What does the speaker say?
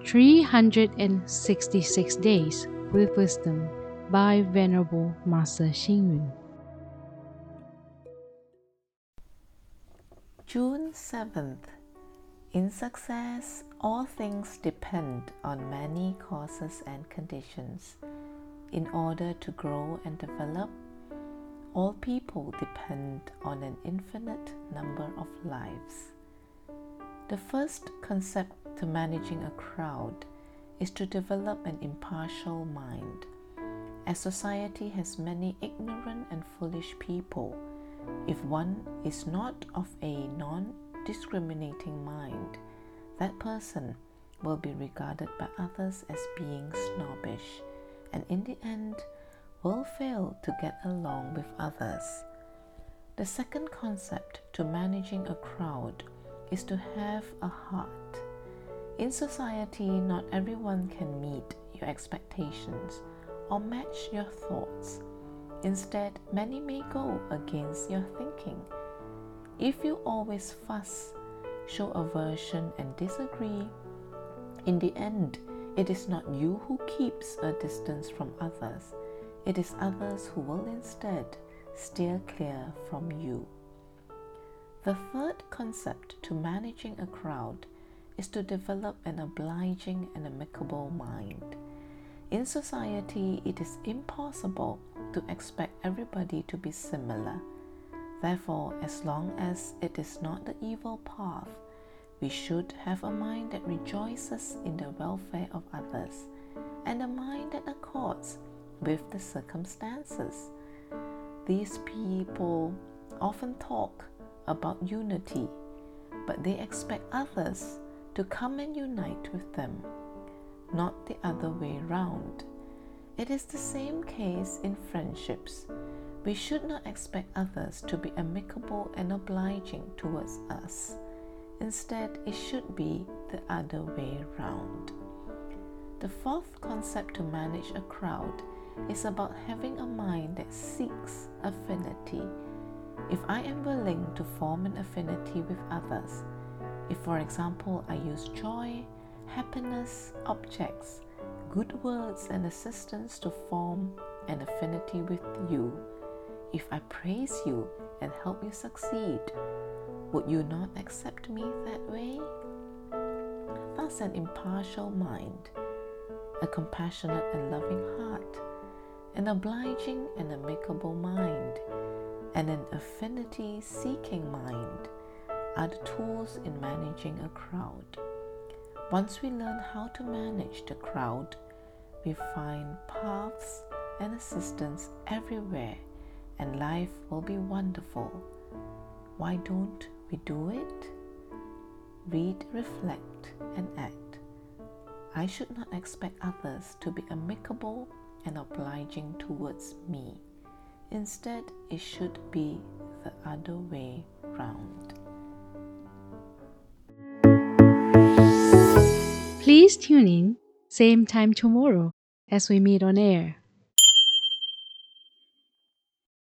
366 Days with Wisdom by Venerable Master Xing Yun. June 7th. In success, all things depend on many causes and conditions. In order to grow and develop, all people depend on an infinite number of lives. The first concept to managing a crowd is to develop an impartial mind. As society has many ignorant and foolish people, if one is not of a non-discriminating mind, that person will be regarded by others as being snobbish, and in the end will fail to get along with others. The second concept to managing a crowd is to have a heart. In society, not everyone can meet your expectations or match your thoughts. Instead, many may go against your thinking. If you always fuss, show aversion and disagree, in the end, it is not you who keeps a distance from others. It is others who will instead steer clear from you. The third concept to managing a crowd is to develop an obliging and amicable mind. In society, it is impossible to expect everybody to be similar. Therefore, as long as it is not the evil path, we should have a mind that rejoices in the welfare of others and a mind that accords with the circumstances. These people often talk about unity, but they expect others to come and unite with them, not the other way round. It is the same case in friendships. We should not expect others to be amicable and obliging towards us. Instead, it should be the other way round. The fourth concept to manage a crowd is about having a mind that seeks affinity. If I am willing to form an affinity with others, if for example I use joy, happiness, objects, good words and assistance to form an affinity with you, if I praise you and help you succeed, would you not accept me that way? Thus, an impartial mind, a compassionate and loving heart, an obliging and amicable mind, and an affinity-seeking mind are the tools in managing a crowd. Once we learn how to manage the crowd, we find paths and assistance everywhere, and life will be wonderful. Why don't we do it? Read, reflect, and act. I should not expect others to be amicable and obliging towards me. Instead, it should be the other way round. Please tune in, same time tomorrow as we meet on air.